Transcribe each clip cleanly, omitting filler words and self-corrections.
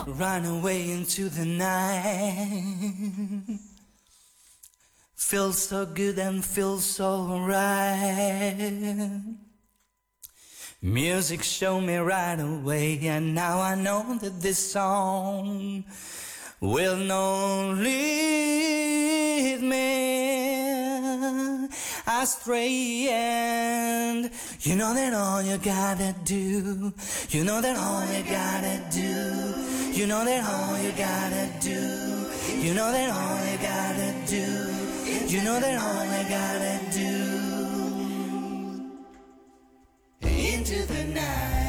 Run away into the night. Feels so good and feels so right. Music showed me right away, and now I know that this song will not lead me astray. And you know that all you gotta do, you know that all you gotta do, you know that all you gotta do, you know that all you gotta do, you know that all you gotta do. Into the night.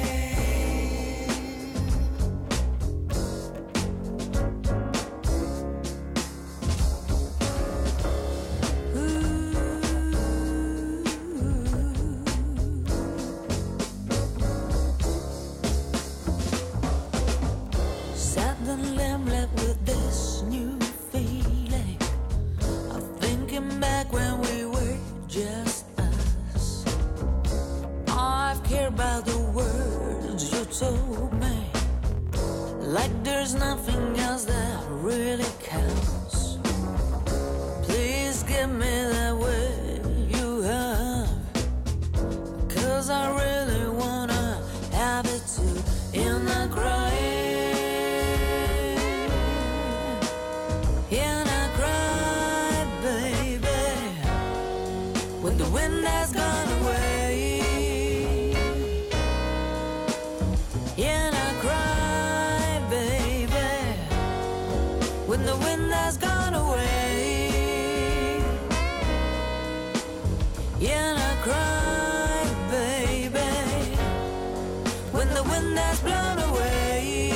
Suddenly I'm left with this new feeling of thinking back when we were just us. I've cared about the words you told me, like there's nothing else that really counts. Please give me that way you have, 'cause I really wanna have it too. In the crying, in a cry, baby, when the wind has gone away. In a cry, baby, when the wind has gone away. In a cry, baby, when the wind has blown away.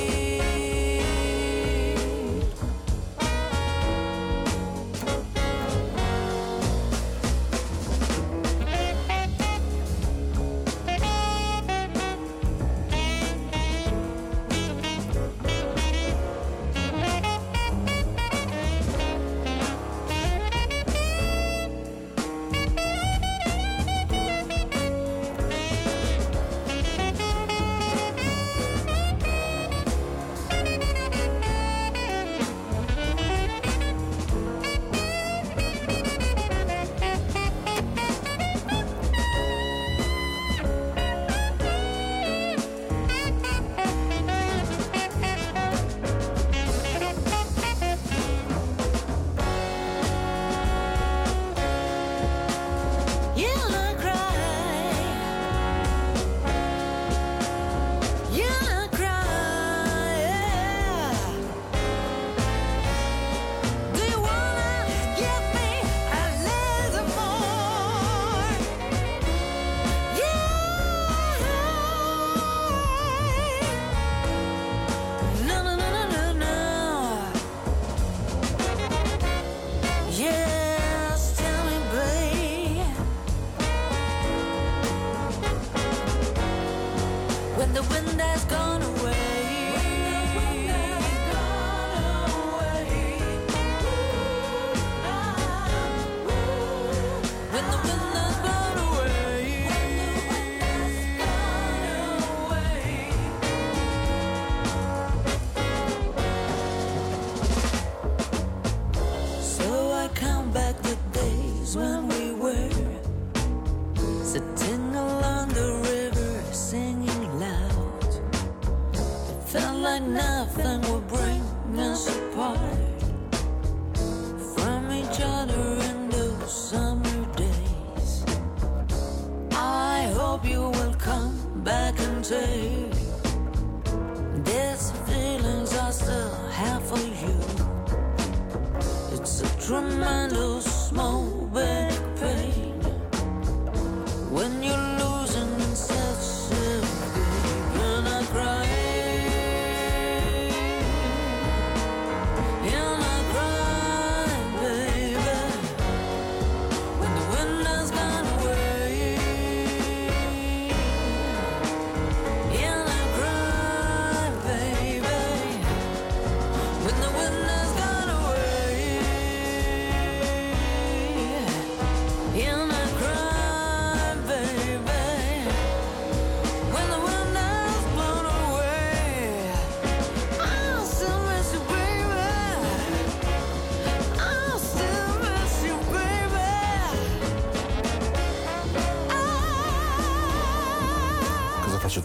When the wind has gone away. When the wind has blown away. So I count back the days when we were sitting along the river singing loud. It felt like nothing would bring us apart from each other in those summer days. I hope you will come back and take these feelings I still have for you. It's a tremendous small big pain when you're losing such a deep and I cry. And I cry, baby, when the wind has gone away. And I cry, baby, when the wind has gone away.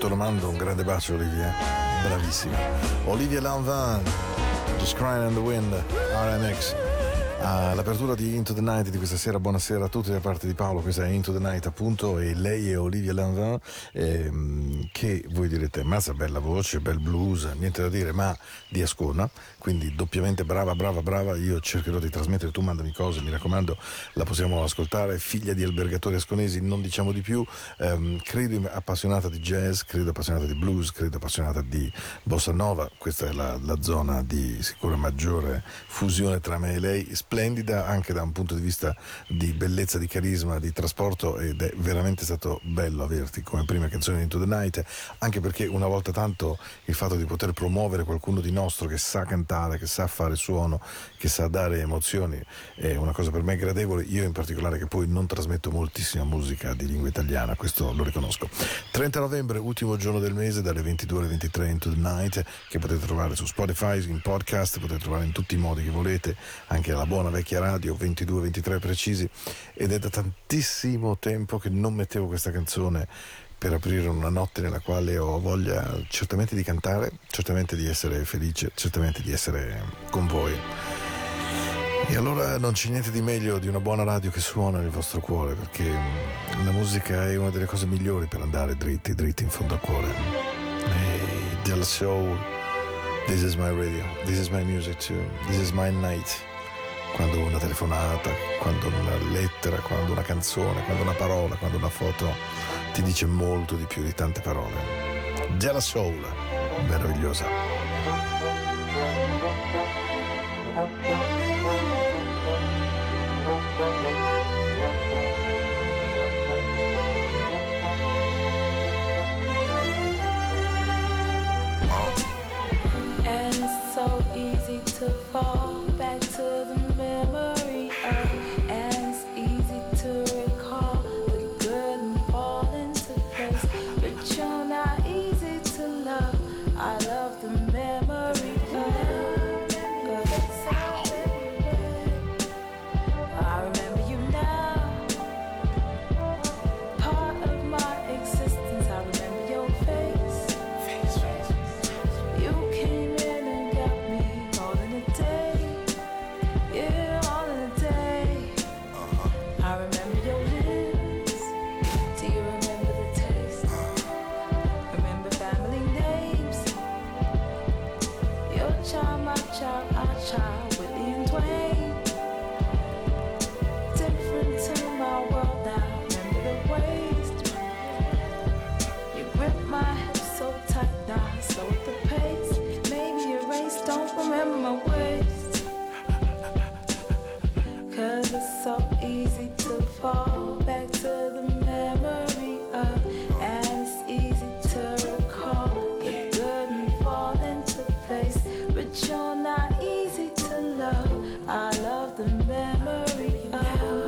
te lo mando, un grande bacio Olivia, bravissima. Olivia Lanvin, Just Crying in the Wind, RMX. L'apertura di Into the Night di questa sera. Buonasera a tutti da parte di Paolo, questa è Into the Night appunto, e lei è Olivia Lanvin, che voi direte mazza, bella voce, bel blues, niente da dire, ma di Ascona, quindi doppiamente brava. Io cercherò di trasmettere, tu mandami cose, mi raccomando, la possiamo ascoltare. Figlia di albergatori asconesi, non diciamo di più, credo appassionata di jazz, credo appassionata di blues, credo appassionata di bossa nova. Questa è la zona di sicura maggiore fusione tra me e lei, splendida anche da un punto di vista di bellezza, di carisma, di trasporto, ed è veramente stato bello averti come prima canzone di Into the Night, anche perché una volta tanto il fatto di poter promuovere qualcuno di nostro che sa cantare, che sa fare suono, che sa dare emozioni è una cosa per me gradevole. Io in particolare, che poi non trasmetto moltissima musica di lingua italiana, questo lo riconosco. 30 novembre, ultimo giorno del mese, dalle 22 alle 23 Into the Night, che potete trovare su Spotify, in podcast, potete trovare in tutti i modi che volete, anche alla buona vecchia radio, 22-23 precisi, ed è da tantissimo tempo che non mettevo questa canzone per aprire una notte nella quale ho voglia certamente di cantare, certamente di essere felice, certamente di essere con voi. E allora non c'è niente di meglio di una buona radio che suona nel vostro cuore, perché la musica è una delle cose migliori per andare dritti in fondo al cuore. E Della Soul, this is my radio, this is my music too, this is my night. Quando una telefonata, quando una lettera, quando una canzone, quando una parola, quando una foto ti dice molto di più di tante parole. Della Soul, meravigliosa. And it's so easy to fall back to the memory of, and it's easy to recall the good and fall into place, but you're not easy to love. I love the memory of. I remember you now, part of my existence. I remember your face. You came in and got me all in a day. Yeah, all in a day. I remember your lips. Do you remember the taste? Remember family names. Your child, my child, our child, Whitney and Dwayne. Different to my world now. Remember the waist. You grip my hips so tight now. Slow at the pace. Maybe erase. Don't remember my waist. 'Cause it's so easy to fall back to the memory of, and it's easy to recall the good and fall into place, but you're not easy to love. I love the memory of.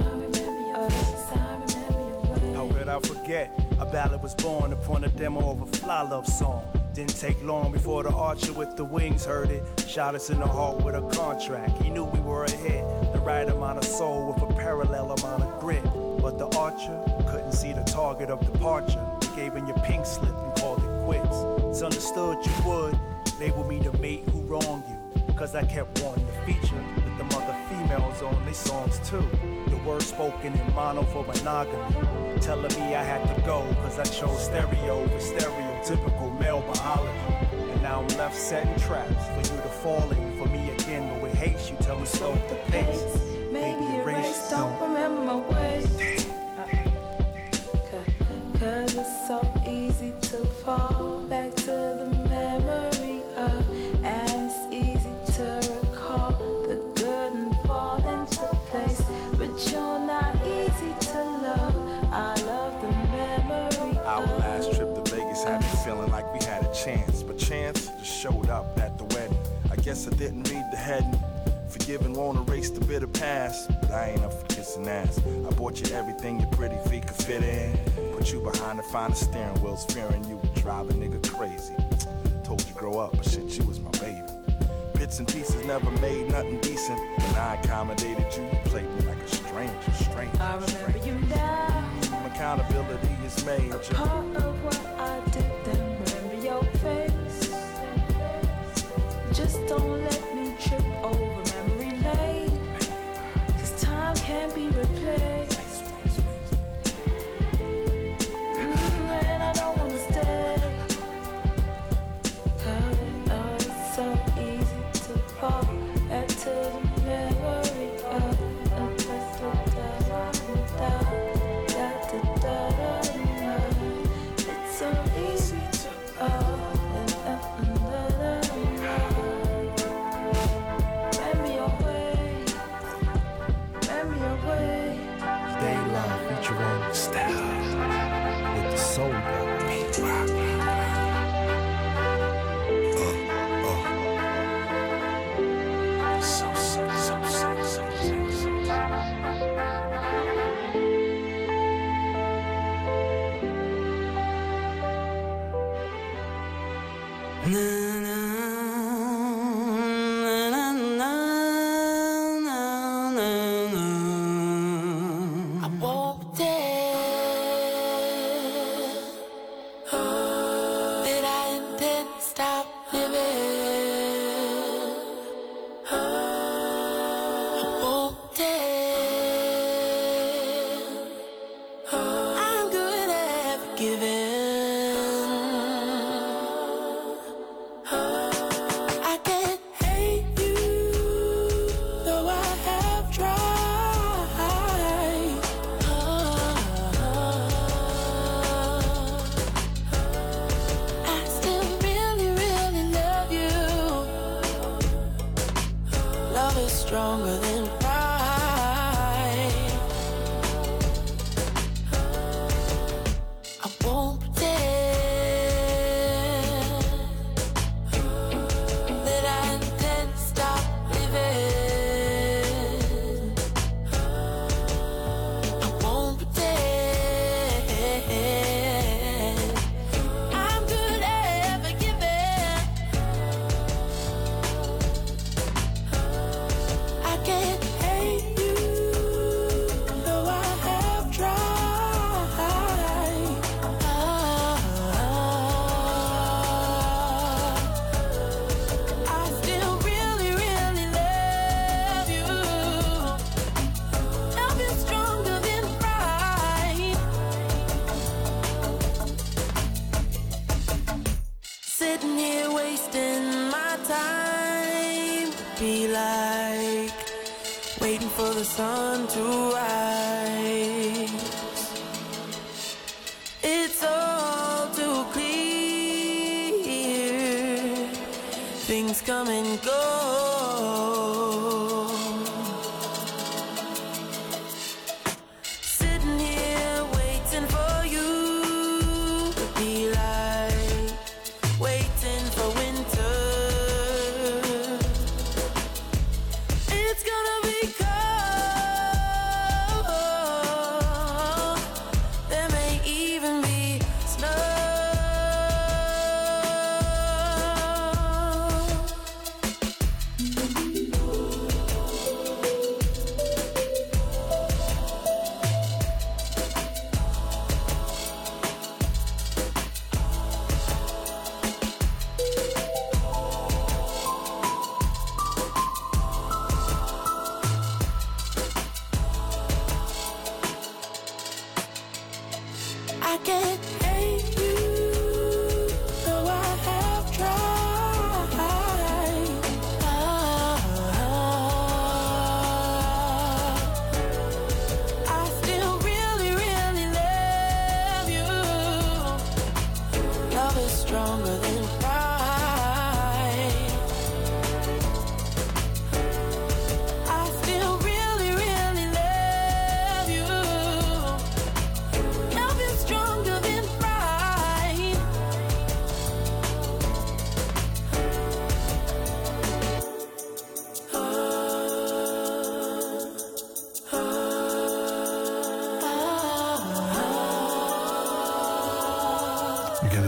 How could I forget? A ballad was born upon a demo of a fly love song. Didn't take long before the archer with the wings heard it. Shot us in the heart with a contract. He knew we were ahead. The right amount of soul with a parallel amount of grit. But the archer couldn't see the target of departure. He gave in your pink slip and called it quits. It's understood you would label me the mate who wronged you. 'Cause I kept wanting to feature with them other females on their songs too. The words spoken in mono for monogamy. Telling me I had to go 'cause I chose stereo over stereotypical male biology. And now I'm left setting traps for you to fall in. For me again, but with hate you tell me slow the pace. Maybe erase, don't remember my ways. 'Cause it's so easy to fall back to the memory of, and it's easy to recall the good and fall into place, but you're not easy to love. I love the memory Our of. last trip to Vegas had me feeling like we had a chance, but chance just showed up at the wedding. I guess I didn't read the heading. Forgive and won't erase the bitter past, but I ain't up for kissing ass. I bought you everything your pretty feet could fit in. Put you behind the finest steering wheels, fearing you would drive a nigga crazy. Told you grow up, but shit, you was my baby. Bits and pieces never made nothing decent. When I accommodated you, you played me like a stranger. I remember you now, Accountability is major. part of what I did then. face. Just don't let me trip over memory lane, 'cause time can't be replaced. And I don't wanna stay. Oh, it's so easy to fall into the memory of it's so easy to memory away. Day Love featuring Style with the Soul Brother. I won't dare that I intend to stop living. I won't dare. I'm good at forgiving. I can't hate you, though I have tried. I still really, really love you. Love is stronger than pride. I won't pretend that I intend to stop living. I won't pretend. I'm good at forgiving. I can't hate you, though I have tried. I still really, really love you. Love is stronger than pride. Sitting here wasting my time would be like waiting for the sun to rise. It's all too clear. Things come and go. Sitting here waiting for you would be like waiting for winter. It's gonna be cold. There may even be snow.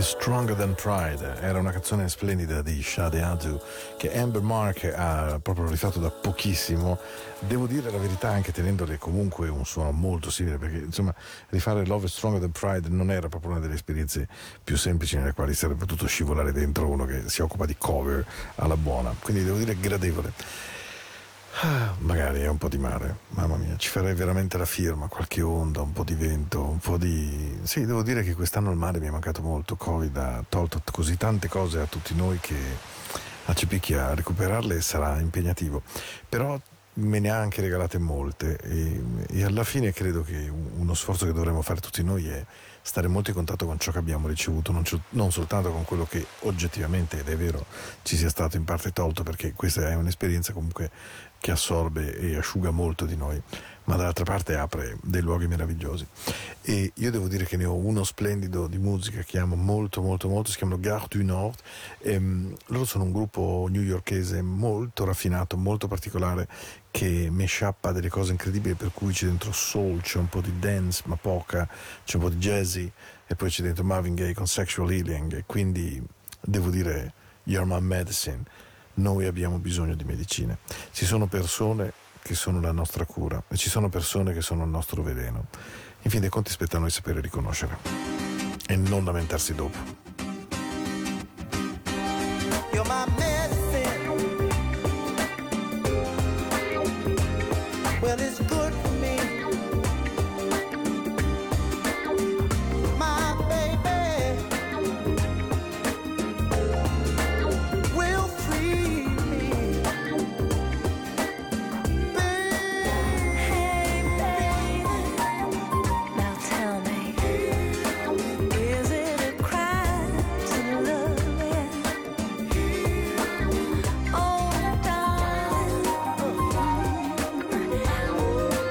Stronger Than Pride era una canzone splendida di Shade Adu che Amber Mark ha proprio rifatto da pochissimo. Devo dire la verità, anche tenendole comunque un suono molto simile, perché insomma rifare Love is Stronger Than Pride non era proprio una delle esperienze più semplici nelle quali sarebbe potuto scivolare dentro uno che si occupa di cover alla buona, quindi devo dire gradevole. Magari è un po' di mare, mamma mia, ci farei veramente la firma, qualche onda, un po' di vento, un po' di... Sì, devo dire che quest'anno il mare mi è mancato molto, Covid ha tolto così tante cose a tutti noi che a Cipicchia recuperarle sarà impegnativo, però me ne ha anche regalate molte e alla fine credo che uno sforzo che dovremmo fare tutti noi è stare molto in contatto con ciò che abbiamo ricevuto, non soltanto con quello che oggettivamente, ed è vero, ci sia stato in parte tolto, perché questa è un'esperienza comunque che assorbe e asciuga molto di noi, ma dall'altra parte apre dei luoghi meravigliosi. E io devo dire che ne ho uno splendido di musica che amo molto molto molto, si chiamano Gare du Nord, loro sono un gruppo newyorkese molto raffinato, molto particolare, che mashup delle cose incredibili, per cui c'è dentro soul, c'è un po' di dance ma poca, c'è un po' di jazzy e poi c'è dentro Marvin Gaye con Sexual Healing, e quindi devo dire You're My Medicine. Noi abbiamo bisogno di medicine, ci sono persone che sono la nostra cura e ci sono persone che sono il nostro veleno. In fin dei conti spetta a noi sapere riconoscere e non lamentarsi dopo. You're my medicine. Well, it's good for me. My baby will free me. Hey, baby, now tell me, is it a crime to love you? Oh, darling,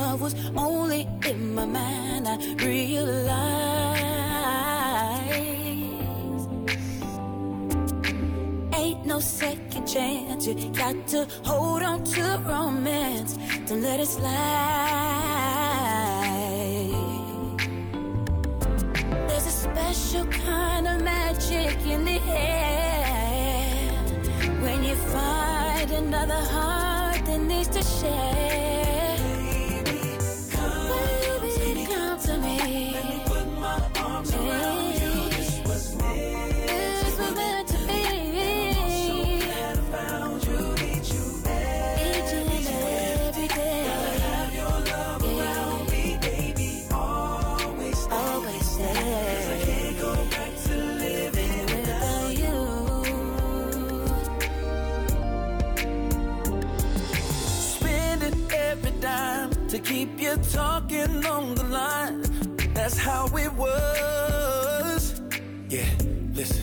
love was only in my mind. I realized ain't no second chance. You got to hold on to romance. Don't let it slide. There's a special kind of magic in the air when you find another heart that needs to share. Baby, come to me. Let me put my arms around you. This was meant to be. I'm so glad I found you. Need you each and every day. Gotta have your love around me, baby. Always stay. 'Cause I can't go back to living without you. Spending every dime to keep you talking on the line. That's how it was. Yeah, listen.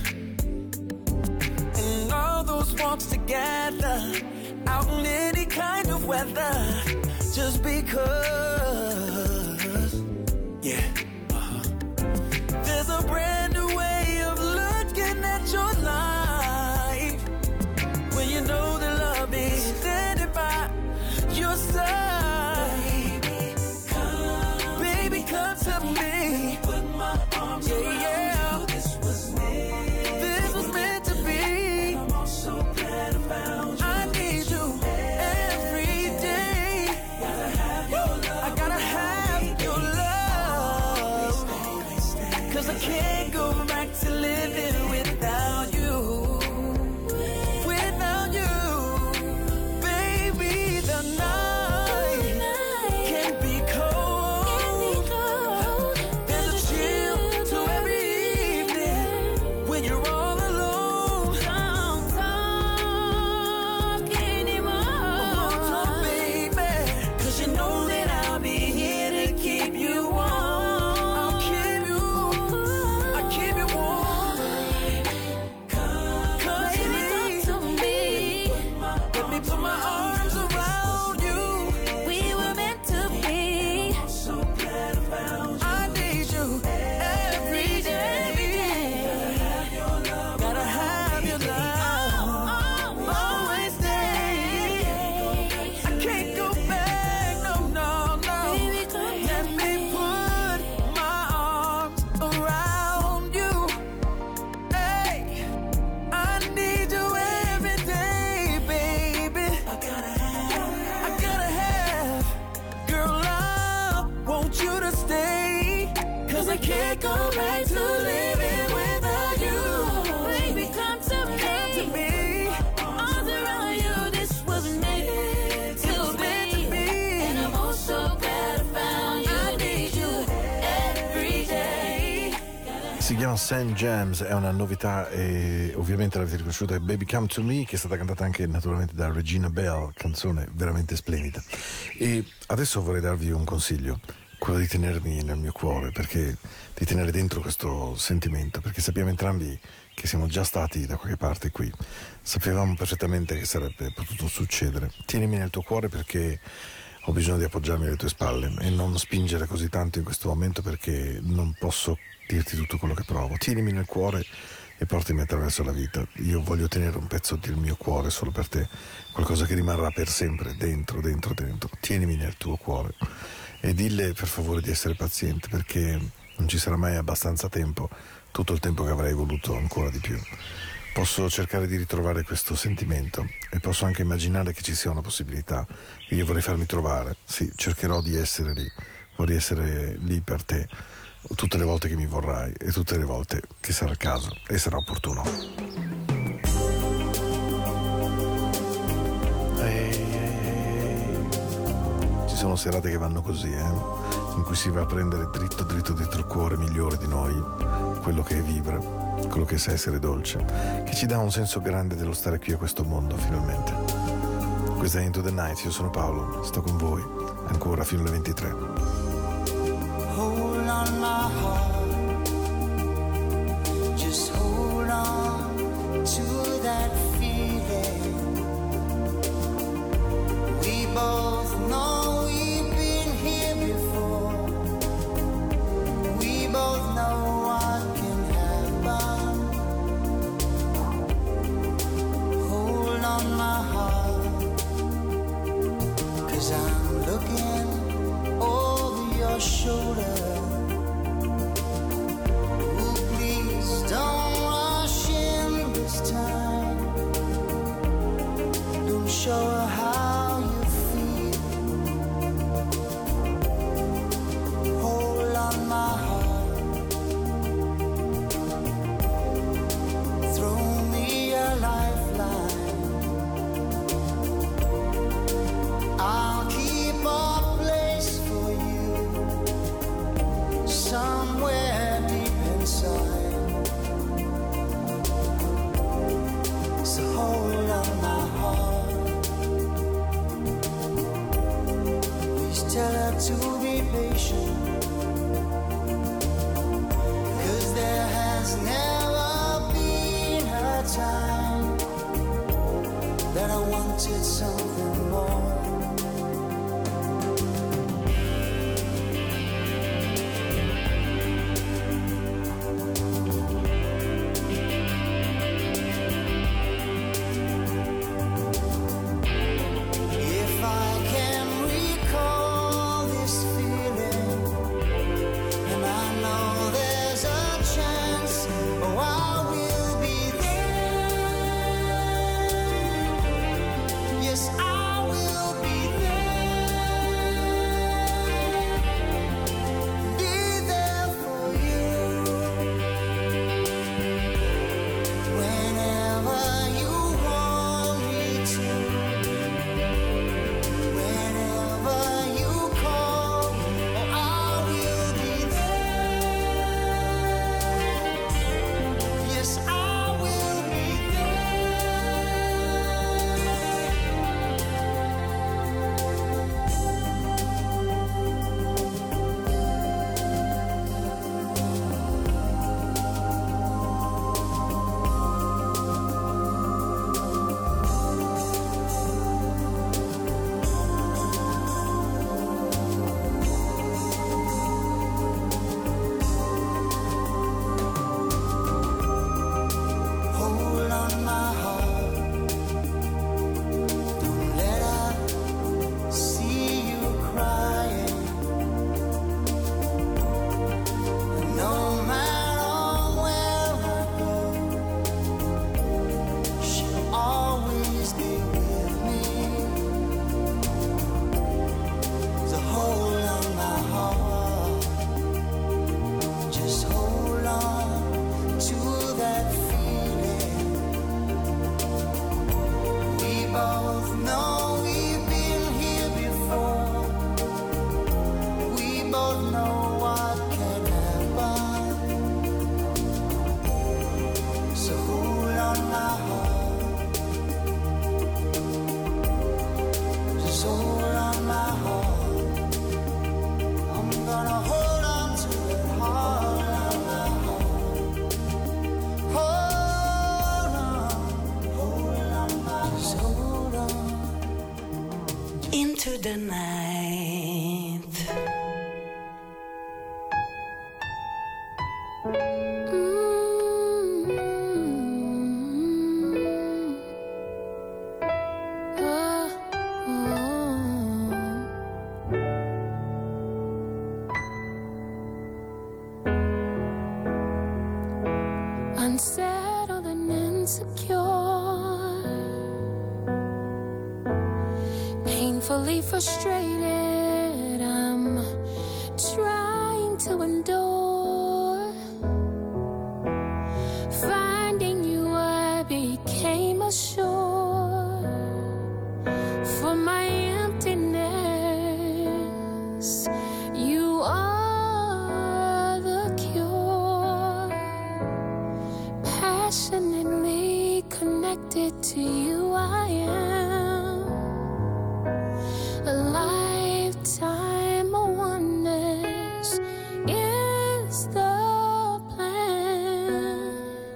And all those walks together, out in any kind of weather, just because. Yeah. There's a brand new way of looking at your life when you know that love is standing by your side. Baby, come to me. Put my arms around you. This was meant to be. I'm also glad I found you. I need you every day. Gotta have your love. I gotta have your love. 'Cause I can't go back to living without you. Without you. Baby, the night can be cold. There's a chill to every evening when you're all alone. Don't talk anymore. Don't talk, baby. 'Cause you know that I'll be here to keep you warm. I'll keep you warm. Come to me. Let me put my arms around you. We were meant to be. I'm so glad I found you. I need you every day. Gotta have your love. Always stay. I can't go back, no. Let me put my arms around you. Hey, I need you every day, baby. I gotta have, girl, I want you to stay. 'Cause I can't go back to living without you. Baby, come to me. Arms around you, this was meant to be. And I'm also glad I found you. I need you every day. Si chiama St. James, è una novità e ovviamente l'avete riconosciuta, è Baby Come to Me, che è stata cantata anche naturalmente da Regina Bell, canzone veramente splendida. E adesso vorrei darvi un consiglio, quello di tenermi nel mio cuore, perché di tenere dentro questo sentimento, perché sappiamo entrambi che siamo già stati da qualche parte qui, sapevamo perfettamente che sarebbe potuto succedere. Tienimi nel tuo cuore perché ho bisogno di appoggiarmi alle tue spalle e non spingere così tanto in questo momento, perché non posso dirti tutto quello che provo. Tienimi nel cuore e portami attraverso la vita. Io voglio tenere un pezzo del mio cuore solo per te, qualcosa che rimarrà per sempre dentro. Tienimi nel tuo cuore e dille per favore di essere paziente, perché non ci sarà mai abbastanza tempo, tutto il tempo che avrei voluto ancora di più. Posso cercare di ritrovare questo sentimento e posso anche immaginare che ci sia una possibilità. Io vorrei farmi trovare, sì, cercherò di essere lì, vorrei essere lì per te tutte le volte che mi vorrai e tutte le volte che sarà il caso e sarà opportuno. Ci sono serate che vanno così, in cui si va a prendere dritto il cuore migliore di noi, quello che vibra, quello che sa essere dolce, che ci dà un senso grande dello stare qui a questo mondo finalmente. Questa è Into the Night, io sono Paolo, sto con voi ancora fino alle 23. Hold on my heart, just hold on to that feeling. We both know we've been here into the night. Unsettled and insecure, painfully frustrated, I'm trying to endure. Finding you, I became a shore for my emptiness. You are the cure. Passionately connected to you, I am. A lifetime of oneness is the plan.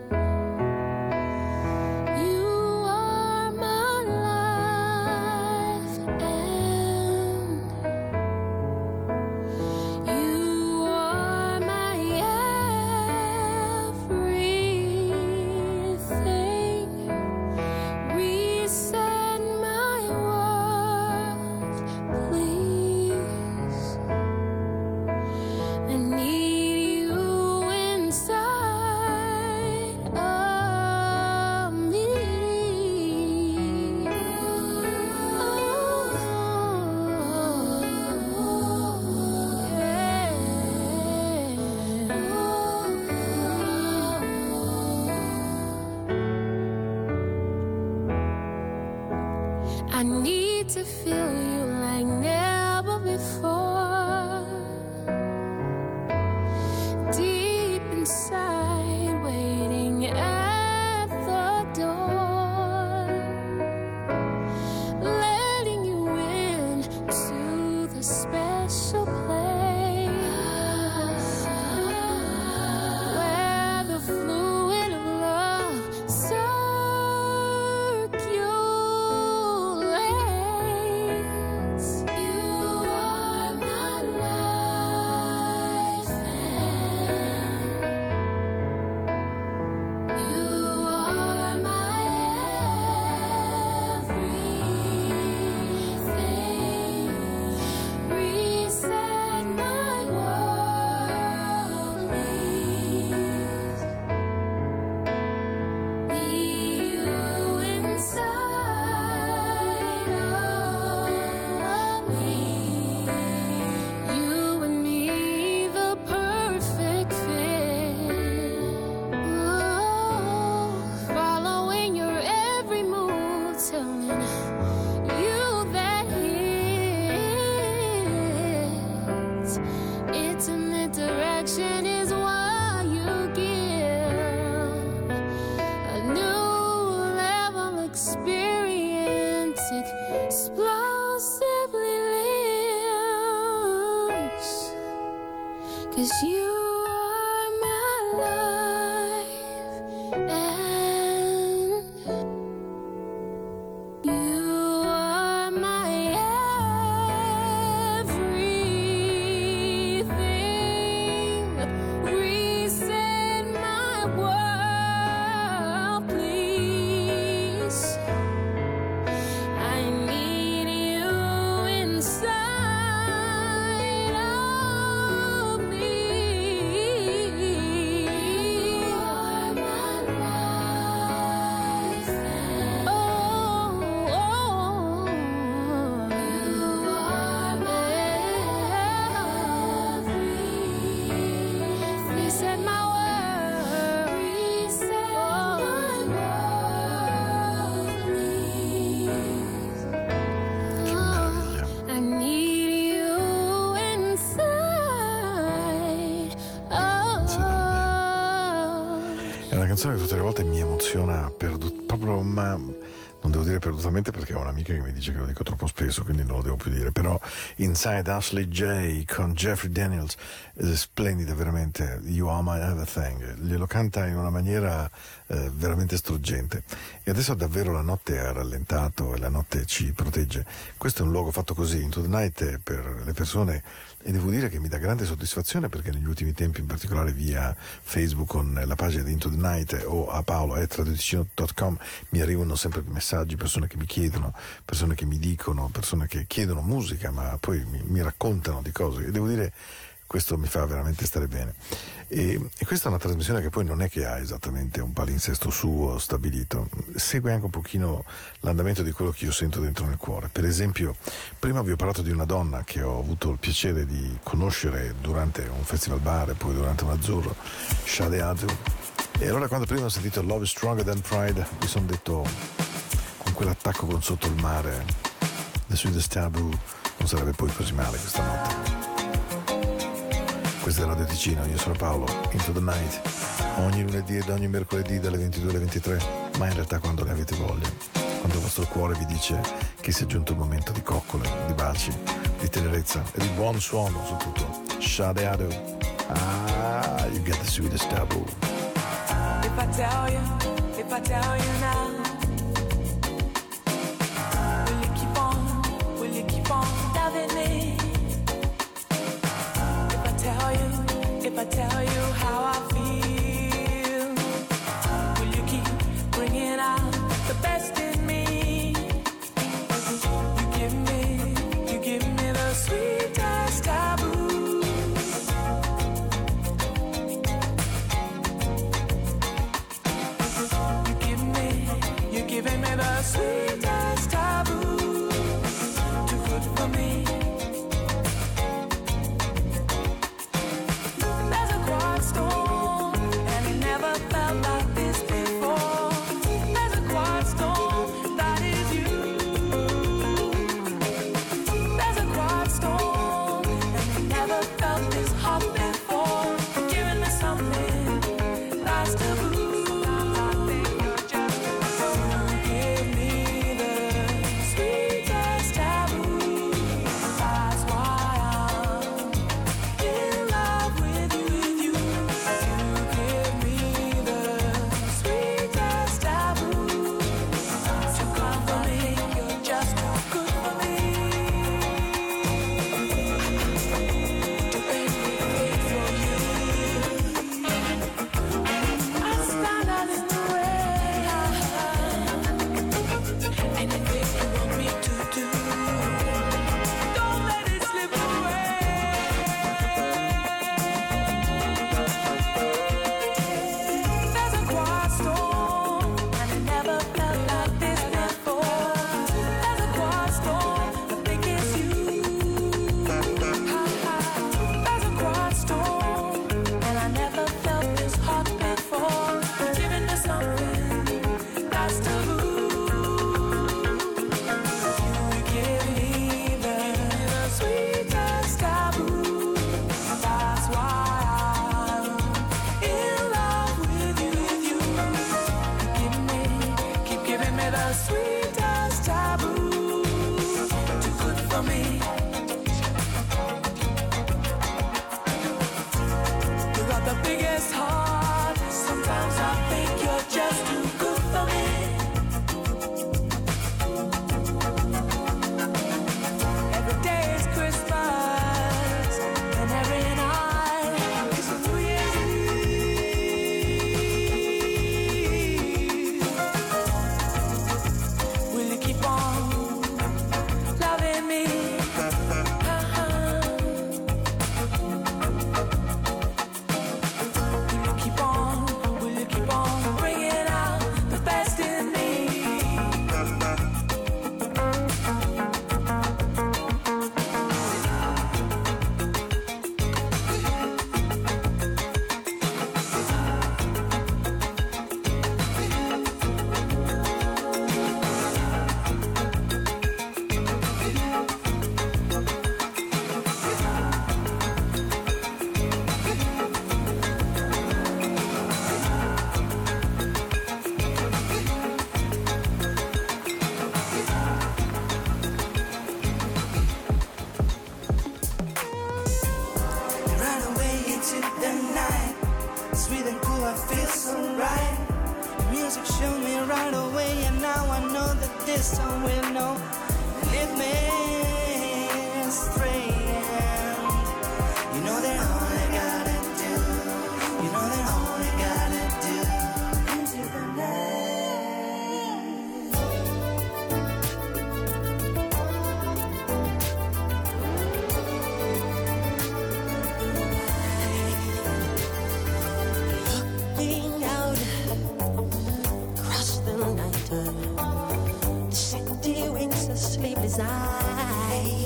You are my life, and you are my everything. Reset my world, please. I need you inside of me. I need to feel you like never before. Deep inside, waiting at the door, letting you in to the special place where the fluid of love circulates. You are my life, and you are my everything. Reset my world, please. Need you inside of me. You and me, the perfect fit. Oh, following your every move, telling you that it's intimate direction is what you give. A new level experience, explosively lives. 'Cause you are my life, and you are my everything. Reset my world, please. I need you inside of me. You are my life, and oh, you are my everything. Reset my world, reset my world, please. Che meraviglia. I need you inside of È una canzone che tutte le volte mi emoziona proprio, ma non devo dire perdutamente perché ho un'amica che mi dice che lo dico troppo spesso, quindi non lo devo più dire, però Inside Ashley J con Jeffrey Daniels è splendida veramente. You Are My Everything, glielo canta in una maniera veramente struggente. E adesso davvero la notte ha rallentato e la notte ci protegge. Questo è un luogo fatto così, Into the Night, è per le persone, e devo dire che mi dà grande soddisfazione perché negli ultimi tempi, in particolare via Facebook con la pagina di Into the Night o a paolo@radioticino.com, mi arrivano sempre messaggi, persone che mi chiedono, persone che mi dicono, persone che chiedono musica ma poi mi raccontano di cose, e devo dire questo mi fa veramente stare bene. E questa è una trasmissione che poi non è che ha esattamente un palinsesto suo stabilito, segue anche un pochino l'andamento di quello che io sento dentro nel cuore. Per esempio, prima vi ho parlato di una donna che ho avuto il piacere di conoscere durante un festival bar e poi durante un azzurro, Sade Adu, e allora quando prima ho sentito Love is Stronger Than Pride mi sono detto, con quell'attacco con Sotto il mare, The Sweetest Taboo, non sarebbe poi così male questa notte. Questo è Radio Ticino, io sono Paolo, Into the Night, ogni lunedì ed ogni mercoledì dalle 22 alle 23, ma in realtà quando ne avete voglia, quando il vostro cuore vi dice che sia giunto il momento di coccole, di baci, di tenerezza e di buon suono soprattutto. Sade Adu, you get the sweetest taboo. If I tell you now, will you keep on loving me? If I tell you how I feel, will you keep bringing out the best in me? You give me the sweetest taboo. You're giving me the sweetest taboo. Too good for me. Will you keep on I feel so right. The music showed me right away, and now I know that this song will know. Lead me astray. You know that all I gotta do, you know that all I gotta do, into the night. Looking out across the night, the city winks a sleepless eye.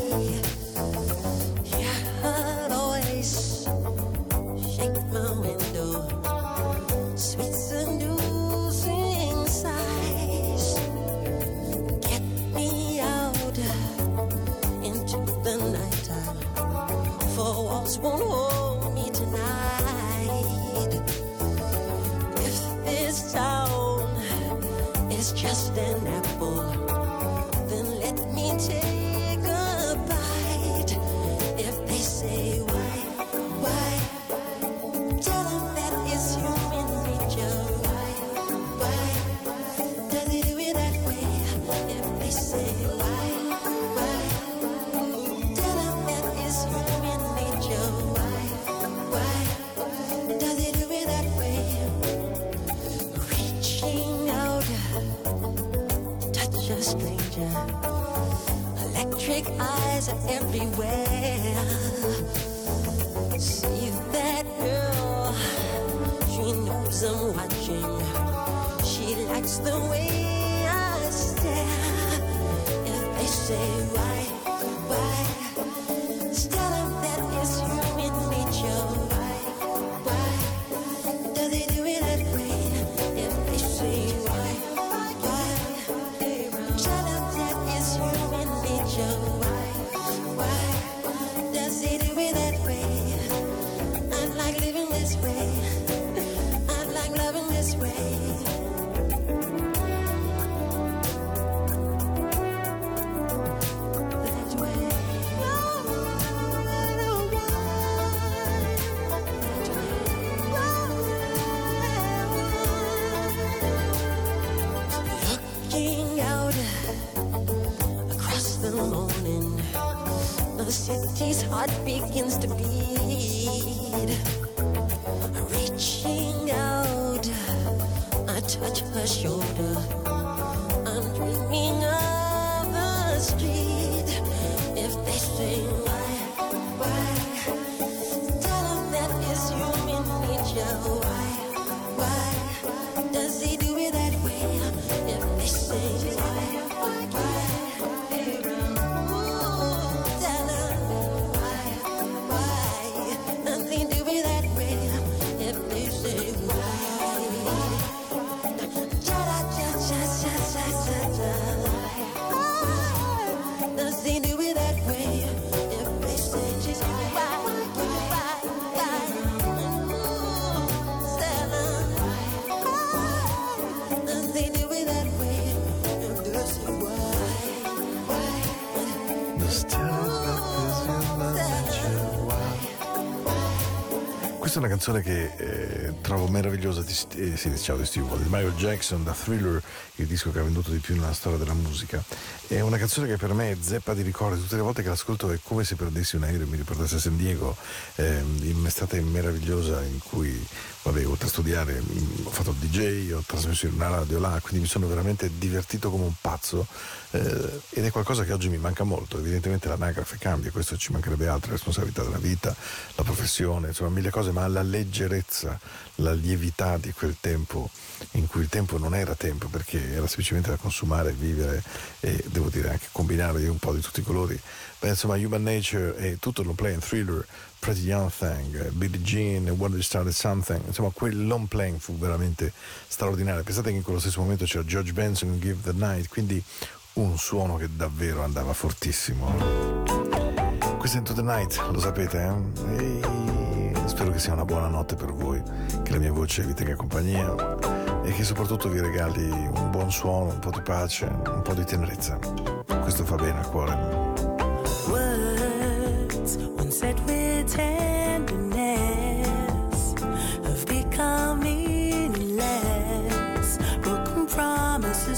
Your voice shake my window, sweet seducing sighs. Get me out into the nighttime, for walls won't hold me tonight. If this town is just an apple, then let me take a bite. If they say why, tell them that it's human nature. Why, does it do it that way? If they say why, tell them that it's human nature. Why, does it do it that way? Reaching out, touch a stranger. Electric eyes are everywhere. See that girl, she knows I'm watching. She likes the way I stare. If they say why, tell them that it's human nature. Why, does it do it that way? If they say why, tell them that it's human nature. Why, does it do it that way? I like living this way. I like loving this way. That way. Looking out across the morning, the city's heart begins to beat. Reaching out, I touch her shoulder. I'm dreaming of the street. If they say why, tell them that it's human nature. Why, does he do it that way? If they say why, tell them why, does he do it that way? If they say why, does he do it that way? If they say why, does he do it that way? If they say Questa è una canzone che trovo meravigliosa ciao di Steve Wonder, di Michael Jackson, da Thriller, il disco che ha venduto di più nella storia della musica. È una canzone che per me è zeppa di ricordi. Tutte le volte che l'ascolto è come se prendessi un aereo e mi riportassi a San Diego, in un'estate meravigliosa in cui, oltre a studiare ho fatto il DJ, ho trasmesso in una radio là, quindi mi sono veramente divertito come un pazzo, ed è qualcosa che oggi mi manca molto. Evidentemente l'anagrafe cambia, questo ci mancherebbe altro, la responsabilità della vita, la professione, insomma mille cose, ma la leggerezza, la lievità di quel tempo in cui il tempo non era tempo, perché era semplicemente da consumare, vivere e devo dire anche combinare un po' di tutti i colori. Beh, insomma, Human Nature e tutto il long play, Thriller, Pretty Young Thing, Billie Jean, When We Started Something, insomma quel long playing fu veramente straordinario. Pensate che in quello stesso momento c'era George Benson in Give the Night, quindi un suono che davvero andava fortissimo. Questo è Into the Night, lo sapete, E spero che sia una buona notte per voi, che la mia voce vi tenga compagnia e che soprattutto vi regali un buon suono, un po' di pace, un po' di tenerezza. Questo fa bene al cuore. Words, when said with tenderness, have become easy.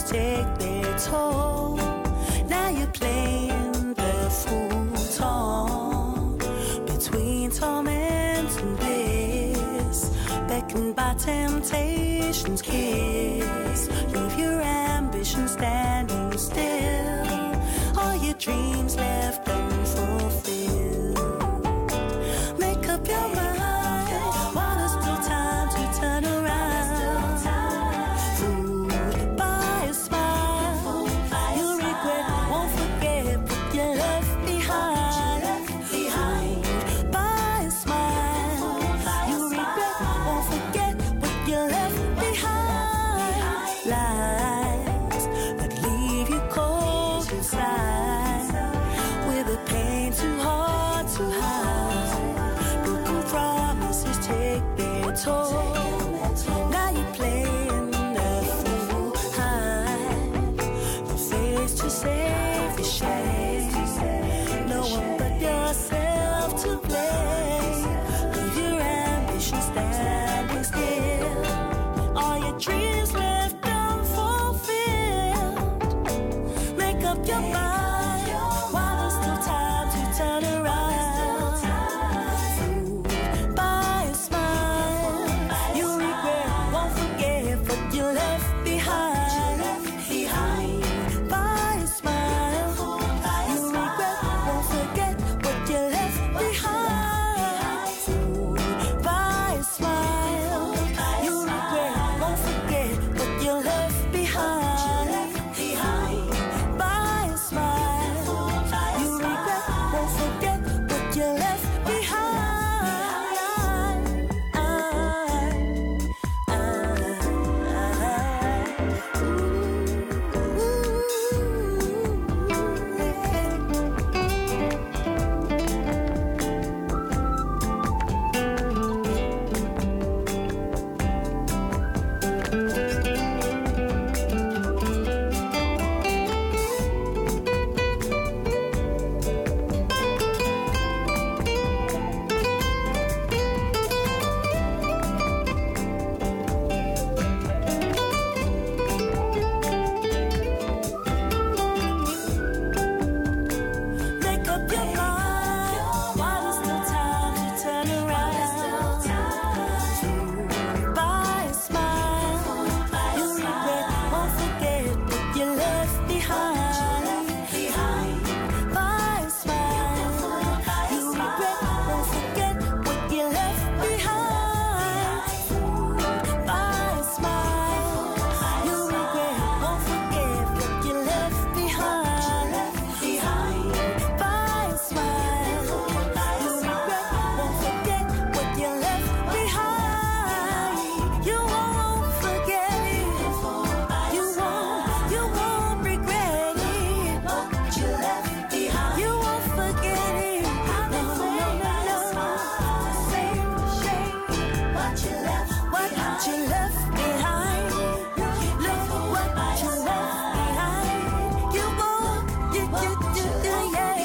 take their toll. Now you're playing the fool torn between torment and bliss, beckoned by temptation's kiss. Leave your ambition standing still, all your dreams left unfulfilled. Make up your mind while there's still time to turn around. Fooled by a smile, you'll regret, won't forget what you left behind. Fooled by a smile, you'll regret, won't forget what you left behind. Lies that leave you cold inside, with a pain too hard to hide. Broken promises take their toll. Now you're playing the fool high. The face to save the shame. No one but yourself to blame. Leave your ambition standing still, all your dreams left unfulfilled. Make up your mind while there's still time to turn around. Fooled by a smile, you'll regret, won't forget what you left behind. By a smile, you'll regret, won't forget what you left behind. Fooled by a smile, you'll regret, won't forget what you left behind. By a smile, you regret, won't forget what you left Make up your mind while there's still time to turn around. Fooled by a smile, you regret, won't forget what you left behind. By a smile, you regret, won't forget what you left behind. By a smile, you regret, won't forget what you left behind. By a smile, you regret, won't forget what you left behind. You won't forget it. You won't regret it. What you left behind. You won't forget it. No. Shame. What you left behind. Look what you left behind. You won't, yeah.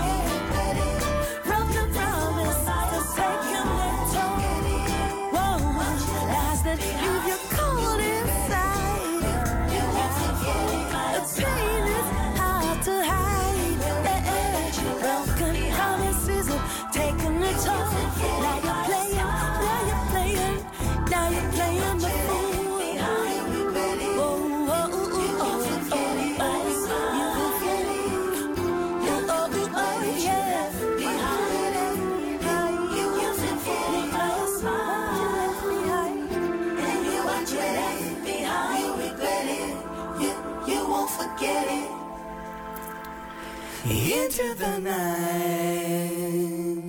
Broken promises taking their toll. Whoa, lies that leave you cold inside. The pain is hard to hide. Broken promises are taking their toll. Now you're playing the fool. Into the night.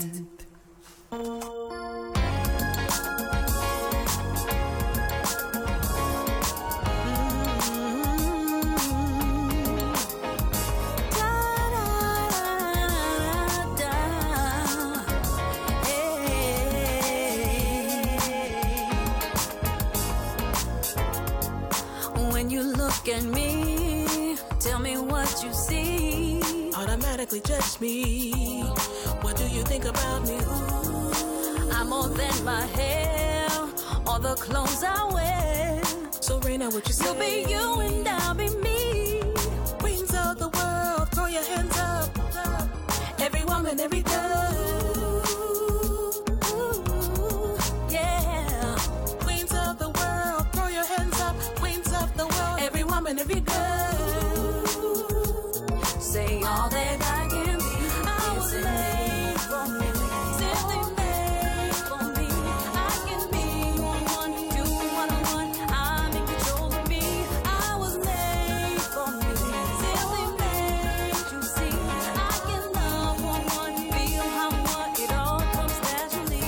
When you look at me, tell me what you see. Automatically judge me. What do you think about me? Ooh. I'm more than my hair or the clothes I wear. So me know what you say. You'll be you and I'll be me. Queens of the world, throw your hands up. Every woman, every girl. Yeah. Queens of the world, throw your hands up. Queens of the world, every woman, every girl. Say all that I can be. I was made for me. Simply made for me. I can be one, do what I want. I'm in control of me. I was made for me. Simply made to see. I can love one, feel how I want. It all comes naturally.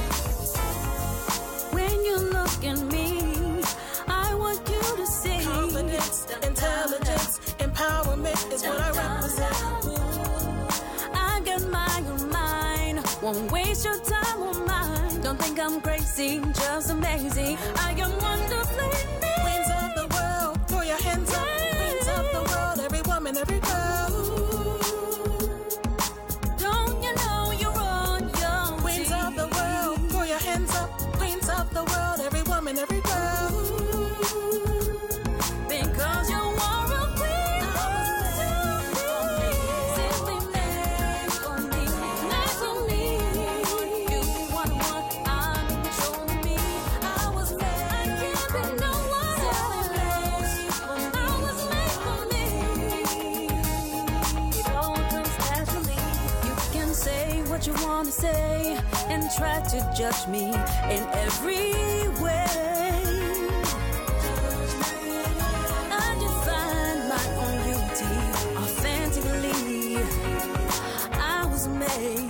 When you look at me, I want you to see. Confidence, intelligence, empowerment is what I represent. I got my own mind. Won't waste your time or mine. Don't think I'm crazy, just amazing. I got wonderfully me. Queens of the world, throw your hands up. Queens of the world, every woman, every girl. Don't you know you're on your Queens of the world, throw your hands up. Queens of the world, every woman, every girl. Because you are a queen. Simply made for me. Made for me. You want what I'm in control of me. I was made. I can't be no one else. I was made for me. It all comes naturally. You can say what you want to say and try to judge me in every way. I define my own beauty authentically. I was made.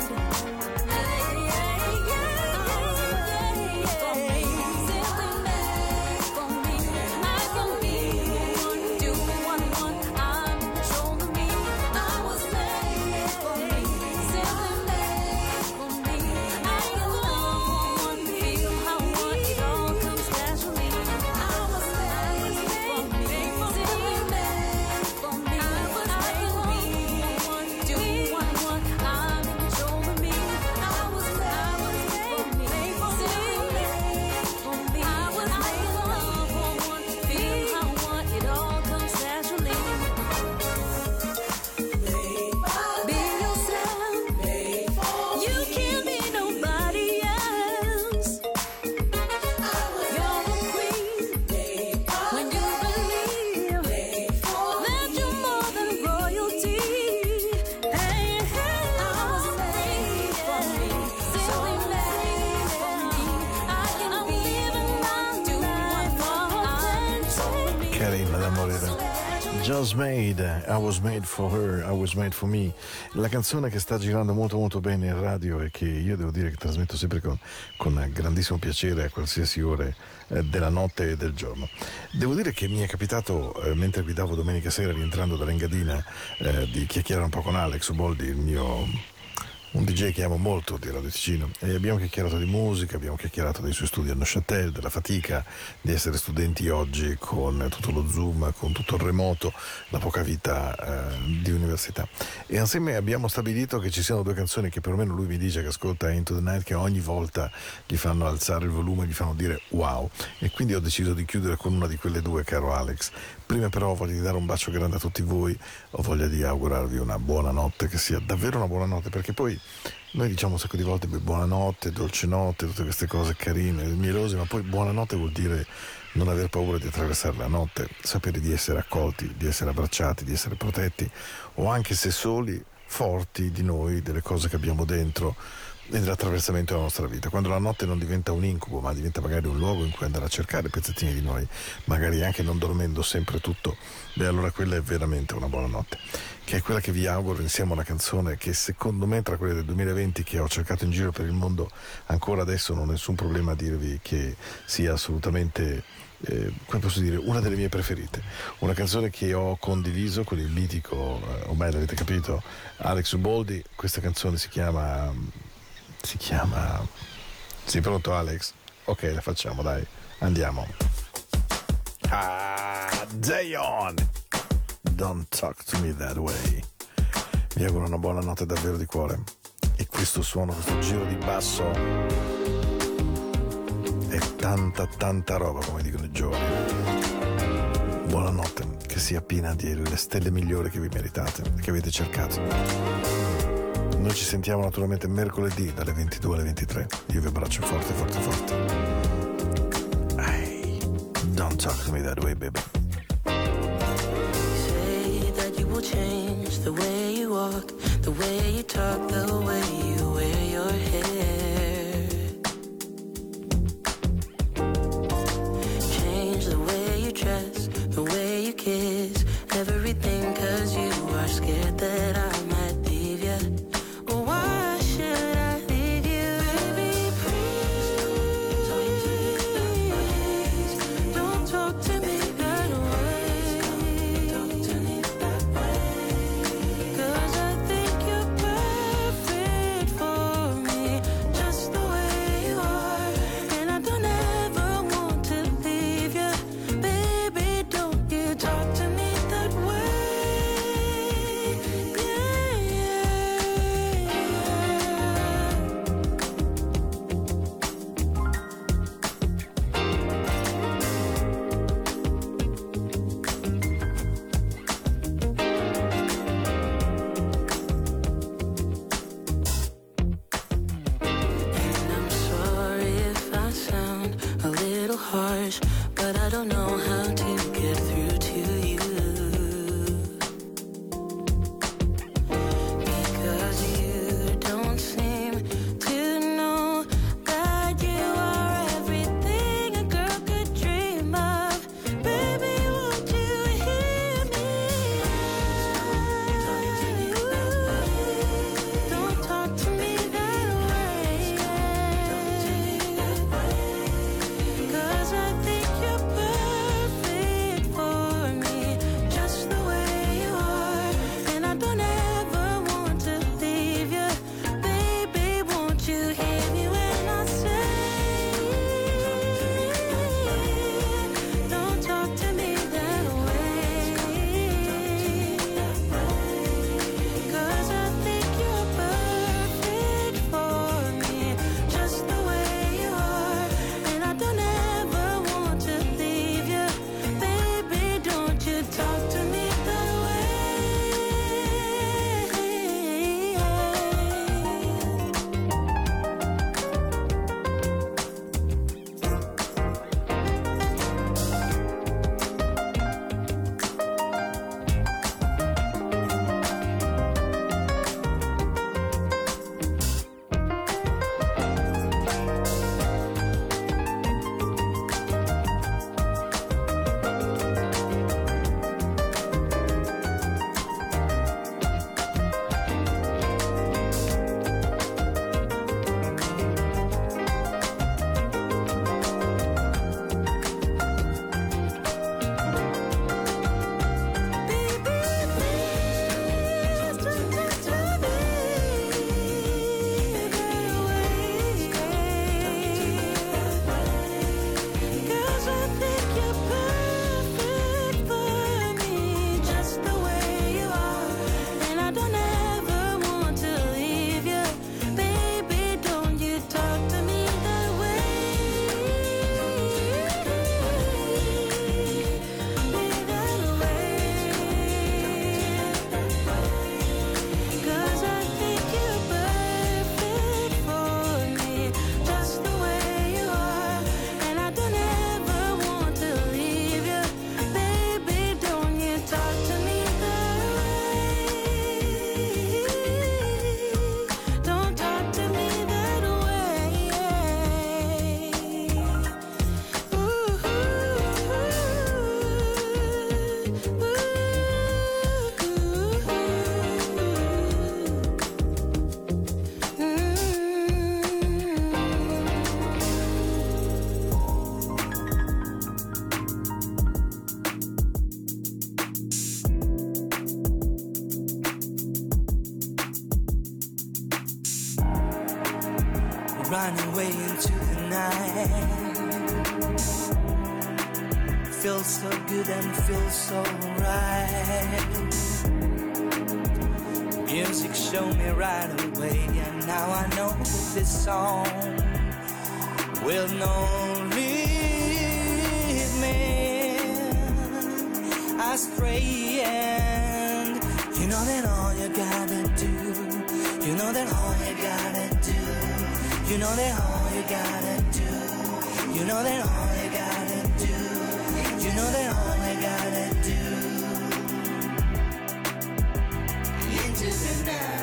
For me. Simply made for me. I can be one, do what I want. I'm in control of me. I was made for me. Simply made for me. I can love one, feel how I want. It all comes naturally. I was made for me. Simply made for me. I can be one, do what I want. I'm in control of me. I was made for me. Simply made for me. I can love one, feel how I want. It all comes naturally. Be yourself. You can't be nobody else. You're a queen when you believe that you're more than royalty. Hey, I was made for me, simply made for me. I can live and not do what Carina da morire. Just Made, I Was Made for Her, I Was Made for Me. La canzone che sta girando molto molto bene in radio e che io devo dire che trasmetto sempre con grandissimo piacere a qualsiasi ore della notte e del giorno. Devo dire che mi è capitato, mentre guidavo domenica sera rientrando dall'Engadina, di chiacchierare un po' con Alex Uboldi, un DJ che amo molto di Radio Ticino, e abbiamo chiacchierato di musica, abbiamo chiacchierato dei suoi studi a Neuchâtel, della fatica di essere studenti oggi con tutto lo Zoom, con tutto il remoto, la poca vita di università, e insieme abbiamo stabilito che ci siano due canzoni che perlomeno lui mi dice che ascolta Into the Night, che ogni volta gli fanno alzare il volume, gli fanno dire wow, e quindi ho deciso di chiudere con una di quelle due, caro Alex. Prima però voglio di dare un bacio grande a tutti voi, ho voglia di augurarvi una buona notte, che sia davvero una buona notte, perché poi noi diciamo un sacco di volte buonanotte, dolce notte, tutte queste cose carine, mielose, ma poi buonanotte vuol dire non aver paura di attraversare la notte, sapere di essere accolti, di essere abbracciati, di essere protetti, o anche se soli, forti di noi, delle cose che abbiamo dentro e dell'attraversamento della nostra vita. Quando la notte non diventa un incubo, ma diventa magari un luogo in cui andare a cercare pezzettini di noi, magari anche non dormendo sempre tutto, beh, allora quella è veramente una buona notte, che è quella che vi auguro insieme a una canzone che secondo me, tra quelle del 2020 che ho cercato in giro per il mondo, ancora adesso non ho nessun problema a dirvi che sia assolutamente come posso dire, una delle mie preferite, una canzone che ho condiviso con il mitico, ormai l'avete capito, Alex Uboldi. Questa canzone si chiama sei pronto, Alex? Ok, la facciamo, dai, andiamo. Zion, Don't Talk to Me That Way. Vi auguro una buona notte davvero di cuore, e questo suono, questo giro di basso e tanta roba, come dicono i giovani. Buonanotte, che sia piena di le stelle migliori che vi meritate e che avete cercato. Noi ci sentiamo naturalmente mercoledì dalle 22 alle 23. Io vi abbraccio forte. Hey, don't talk to me that way, baby. Say that you will change the way you walk, the way you talk, the way you wear your hair. Change the way you dress, the way you kiss, everything, 'cause you are scared that I might leave you. Why should I leave you? Baby, please don't talk to me that way. Don't talk to me that way. 'Cause I think you're perfect for me, just the way you are. And I don't ever want to leave you. Baby, don't you talk to me that way. And I'm sorry if I sound a little harsh, but I don't know how to get through to you. Because you don't seem to know that you are everything a girl could dream of. Baby, won't you hear me? Don't talk to me that way. 'Cause I think you're perfect for me, just the way you are. And I don't ever want to leave you. Baby, won't you hear me when I say, don't talk to me that way. 'Cause I think you're perfect for me, just the way you are. And I don't ever want to leave you. Baby, don't you talk to me that way. Running away into the night. Feels so good and feels so right. Music showed me right away, and now I know this song will no astray. And you know that all you gotta do, you know that all you gotta do, you know that all you gotta do, you know that all you gotta do, you know that all you gotta do. Into the night.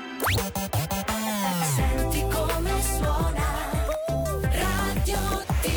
Senti come suona Radio Ticino.